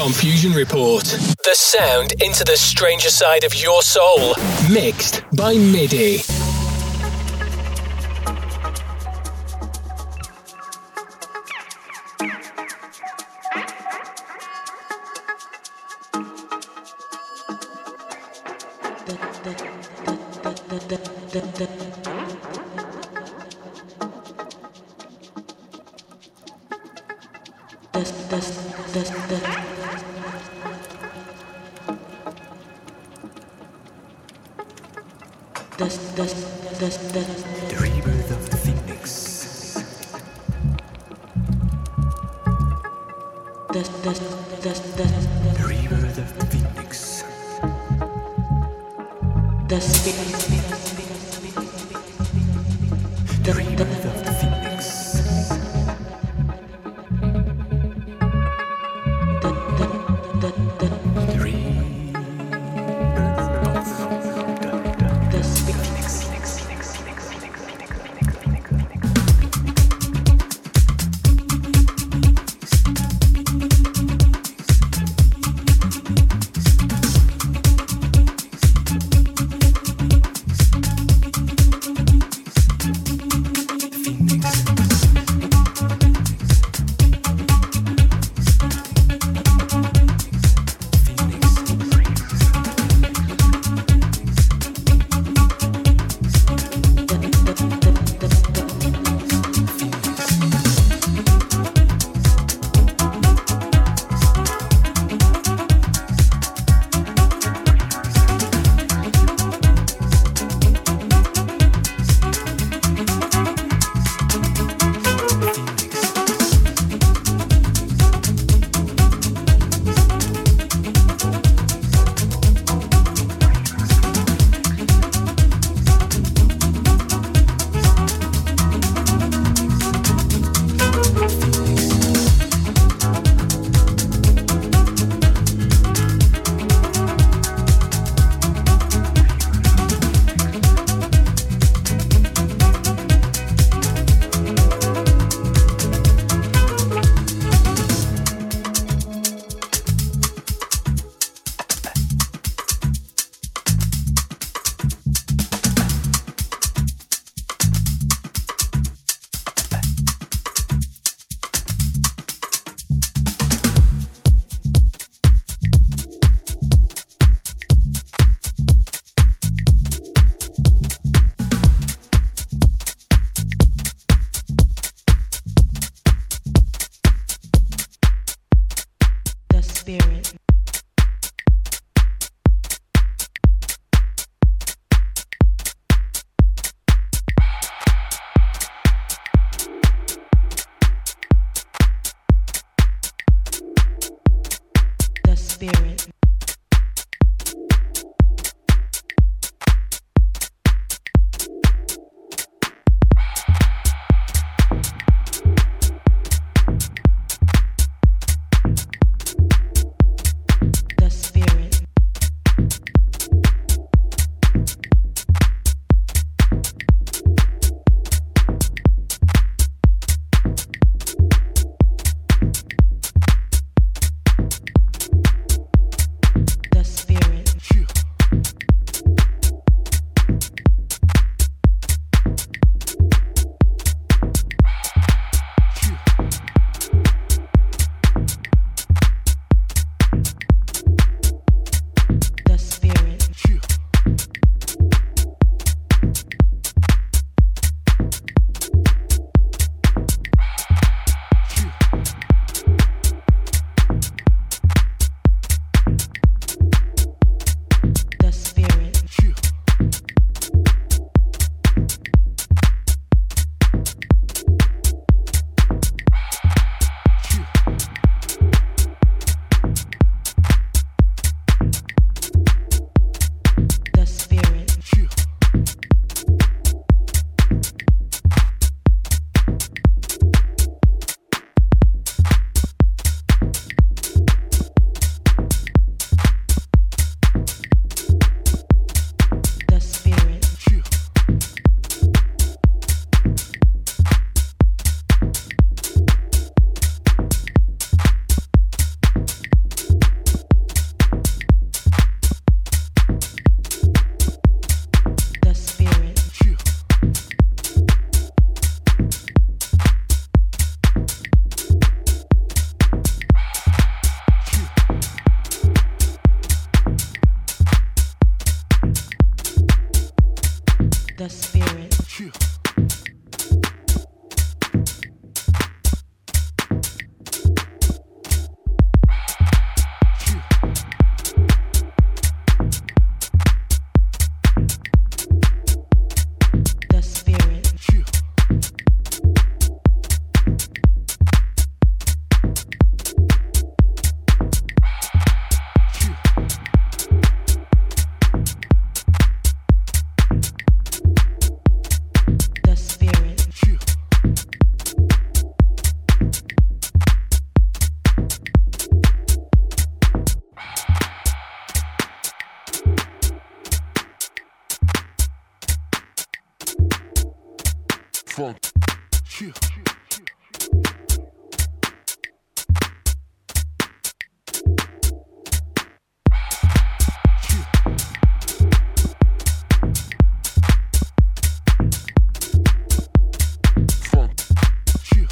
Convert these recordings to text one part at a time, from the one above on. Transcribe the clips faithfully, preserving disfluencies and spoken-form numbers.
Confusion Report. The sound into the stranger side of your soul. Mixed by MIDI. The rebirth of the Phoenix. The rebirth of the Phoenix. The rebirth of the Phoenix. the spirit. Yeah. The spirit. Yeah. The spirit. Yeah. Funk. Yeah. Funk. Yeah.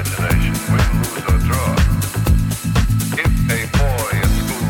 imagination, win, lose, or draw. If a boy at school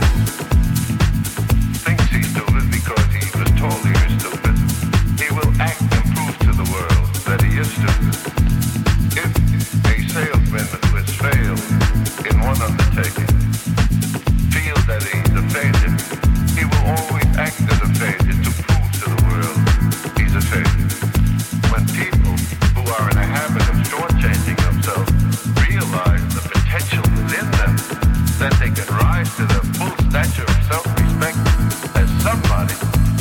thinks he's stupid because he was told he was stupid, he will act and prove to the world that he is stupid. If a salesman who has failed in one undertaking feels that he's a failure, he will always act as a failure to prove to the world he's a failure. When people who are in a habit of shortchanging themselves realize the potential within them, that they can rise to the full stature of self-respect as somebody,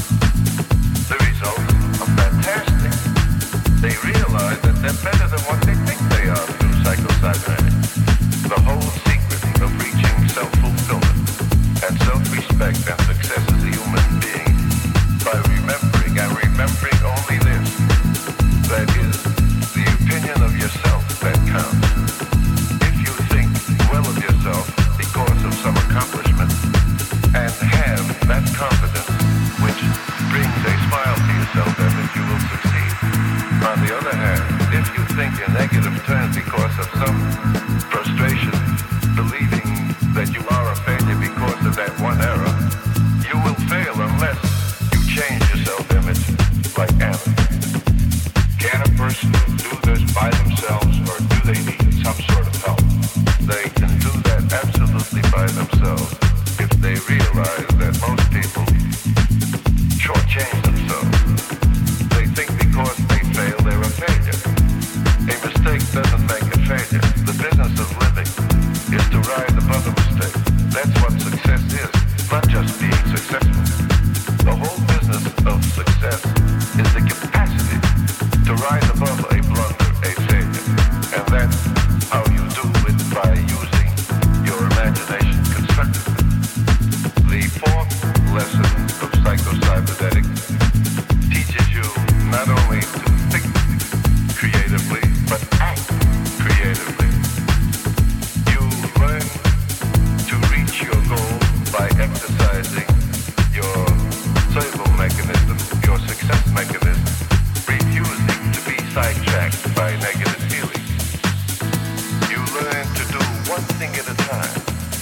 the results are fantastic. They realize that they're better than what they think they are through psychocybernetics. The whole secret of reaching self-fulfillment and self-respect and success as a human being by remembering and remembering only this, that is the opinion of yourself that counts. If you think well of yourself because of some accomplishment and have that confidence which brings a smile to yourself as if you will succeed. On the other hand, if you think in negative terms because of some frustration, believing that you are a failure because of that one error, you will fail unless you change your self-image like Anna. Can a person do this by themselves, or do they need some sort of help? They can do that absolutely by themselves if they realize that most people shortchange themselves. They think because they fail, they're a failure. A mistake doesn't make a failure. The business of living is to rise above a mistake. That's what success is, not just being successful. The whole business of success is the capacity to rise above a blunder, a failure. And that's how you do it, by using your imagination constructively. The fourth lesson of psycho-cybernetics teaches you not only to think creatively, but act creatively. You learn to reach your goal by exercising your survival mechanism, your success mechanism, refusing to be sidetracked by negative feelings. You learn to do one thing at a time.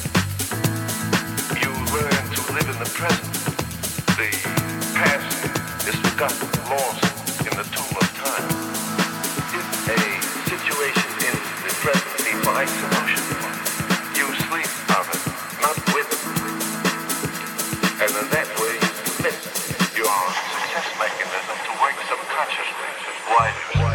You learn to live in the present. The past is forgotten, lost in the tomb of time. If a situation in the present defies solution, you sleep of it, not with it. And in that way, you submit your success mechanism to work subconsciously while you sleep.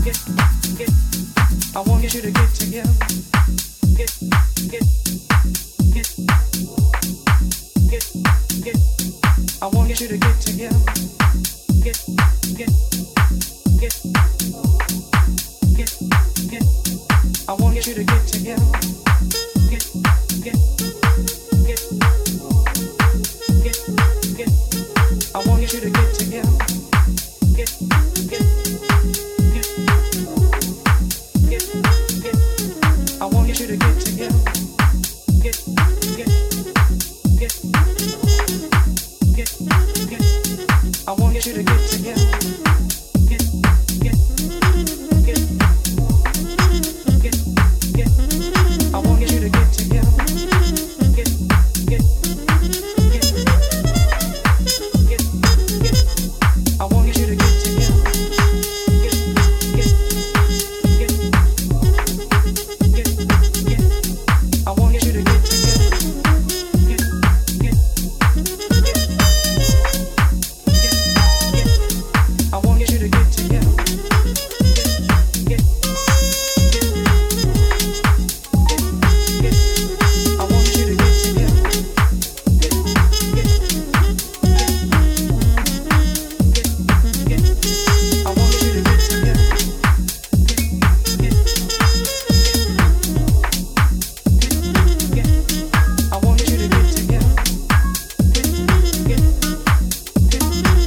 I want you to get together. Get, get, get, get, get. I want you to get together. Get, get, get, get, get. I want you to get together. Get, get, get, get, get. I want you to get together. Get, get, get, get, get. I want you to get together. Get, get, get, get, get. I want you to get together. Get, get, get, get, get. I want you to get together. Get, get, get, get, get. I want you to get together. Get, get, get, get, get. I want you to get together. Get, get, get, get, get. I want you to get together. Get, get, get, get, get. I want you to get together. Get, get, get, get, get. I want you to get together. Get, get, get, I want you to get together. Get, get, get, get,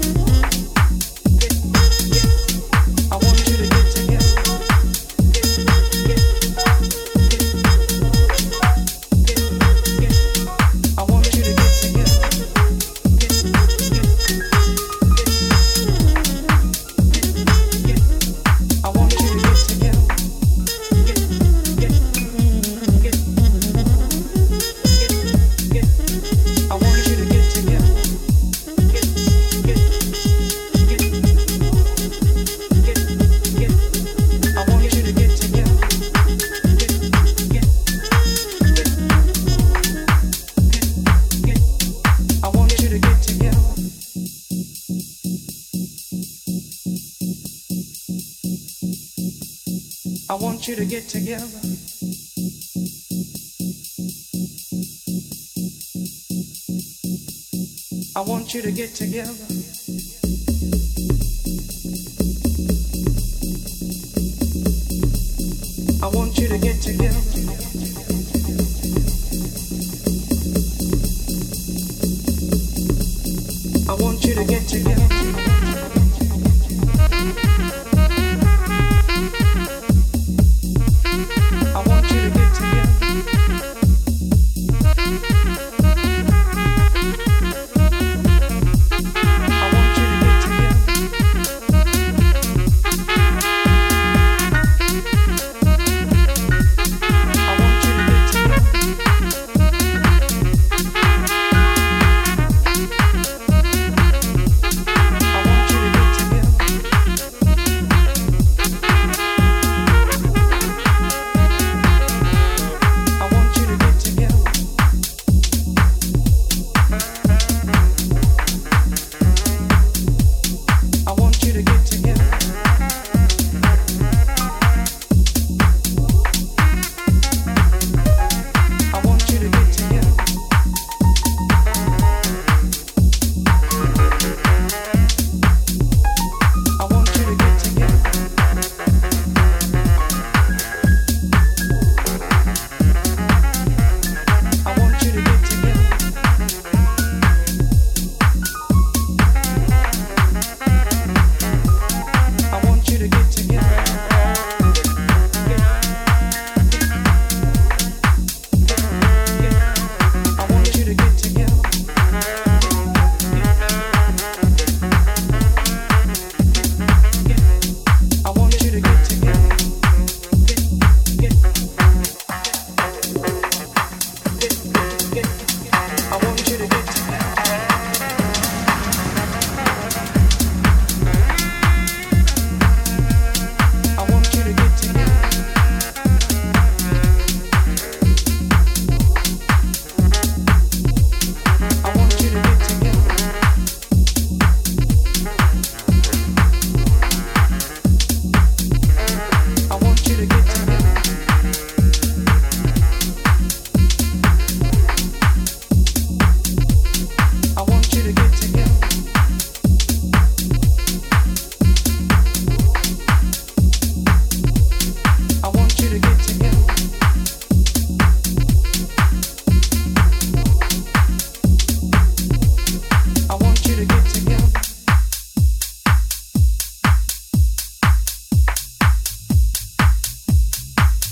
get. I want you to get together. Get, get, get, get, get. I want you to get together. Get, get, get, get, I want you to get together. Get, get, get, get, get. I want you to get together. Get, get, get, get, get. I want you to get together. Get, get, get, get, get. I want you to get together. I want you to get together. I want you to get together. I want you to get together. I want you to get together. I want you to get together. I want you to get together. I want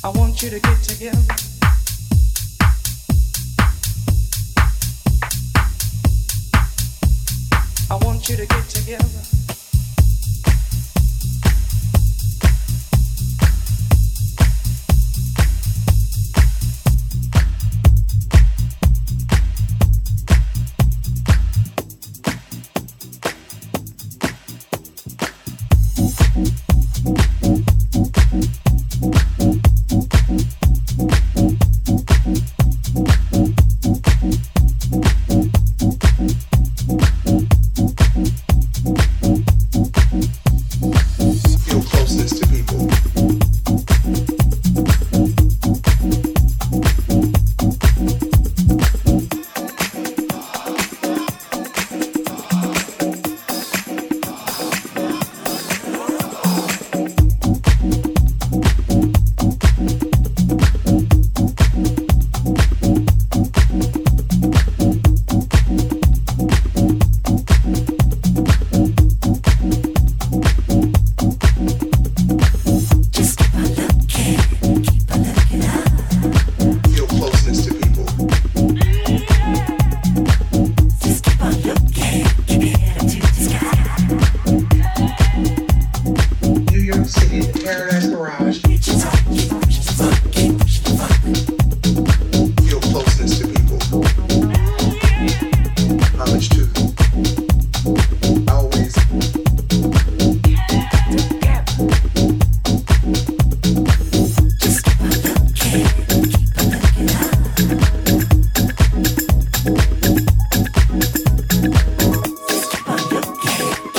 I want you to get together. I want you to get together.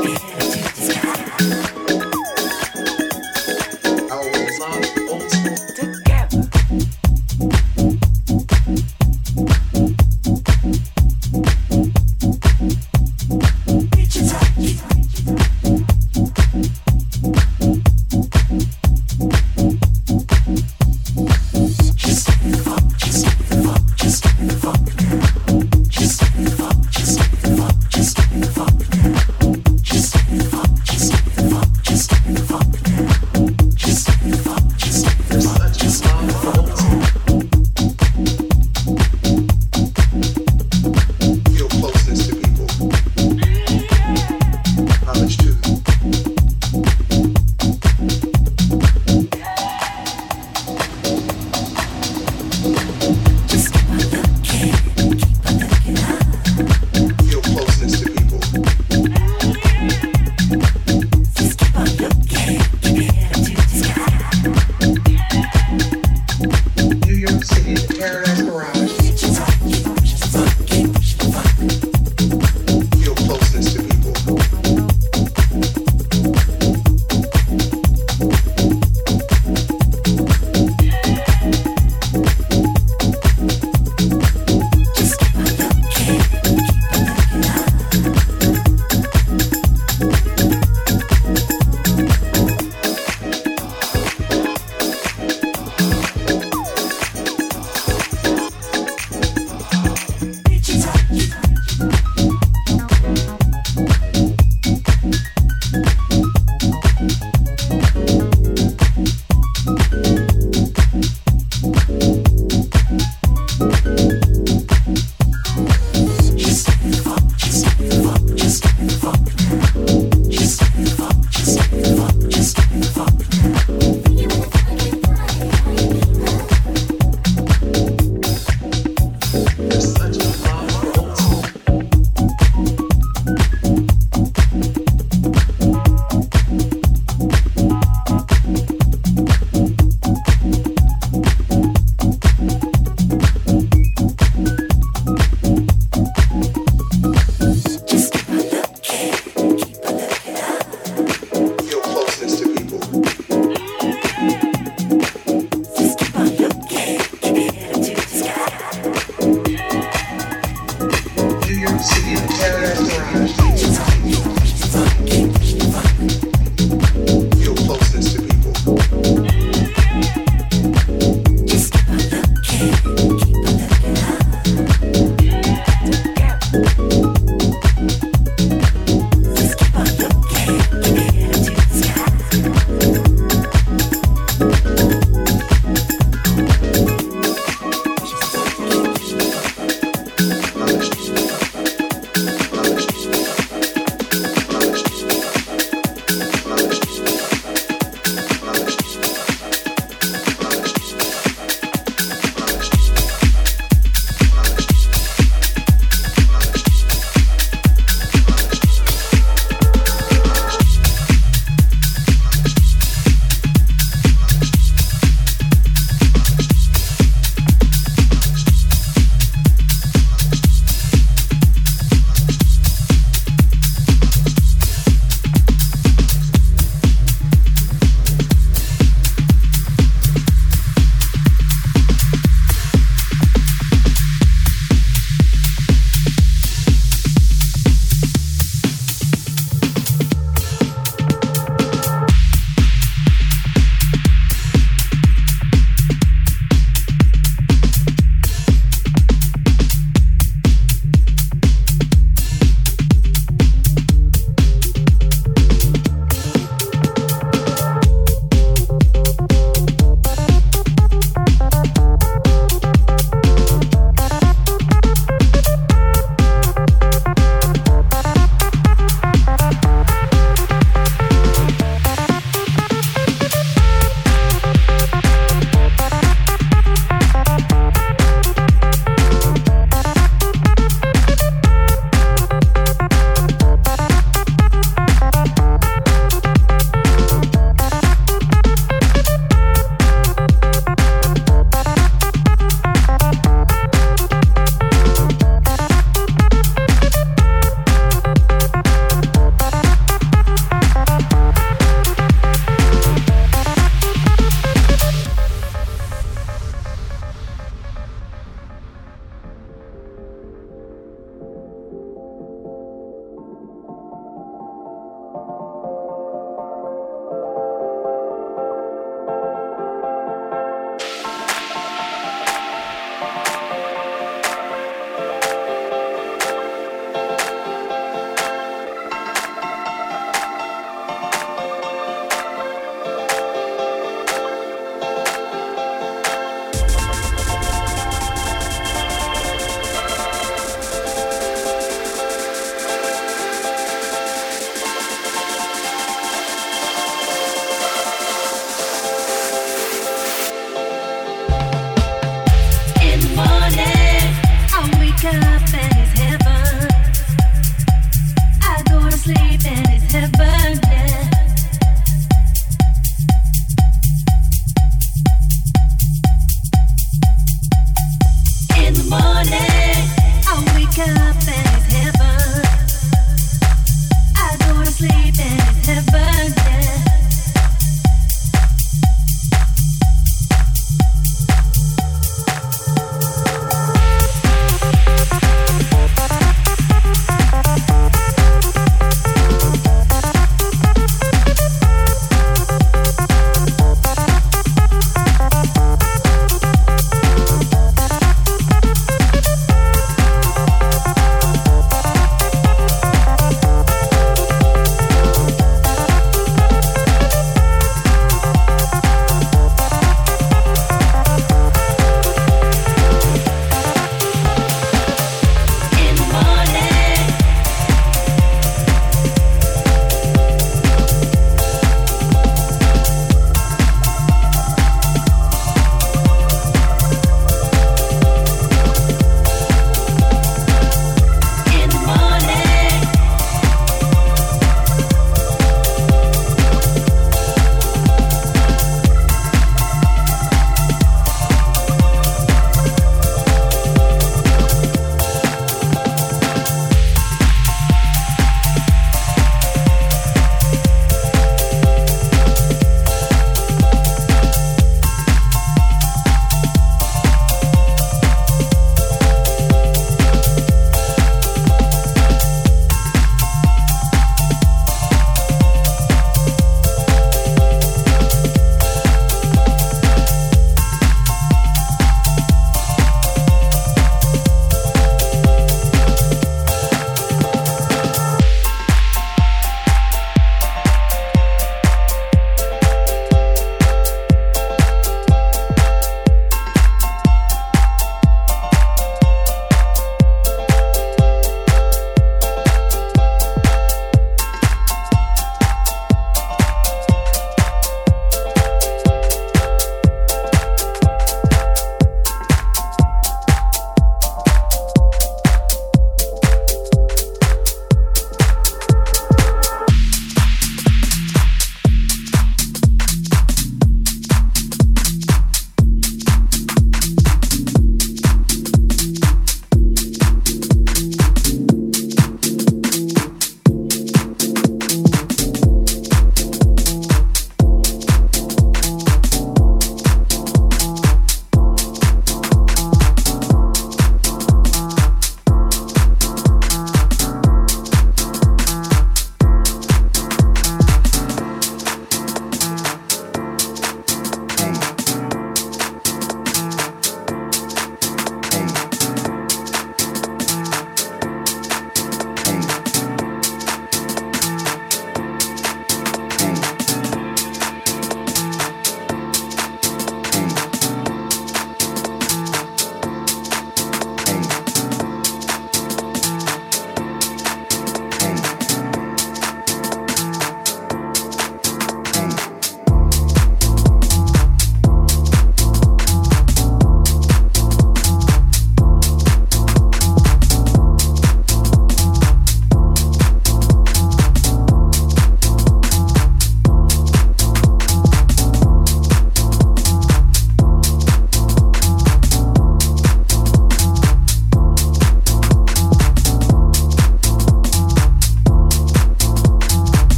Old school.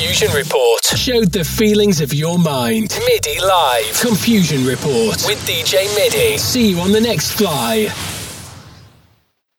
Confusion Report showed the feelings of your mind. MIDI Live. Confusion Report with D J MIDI. See you on the next fly.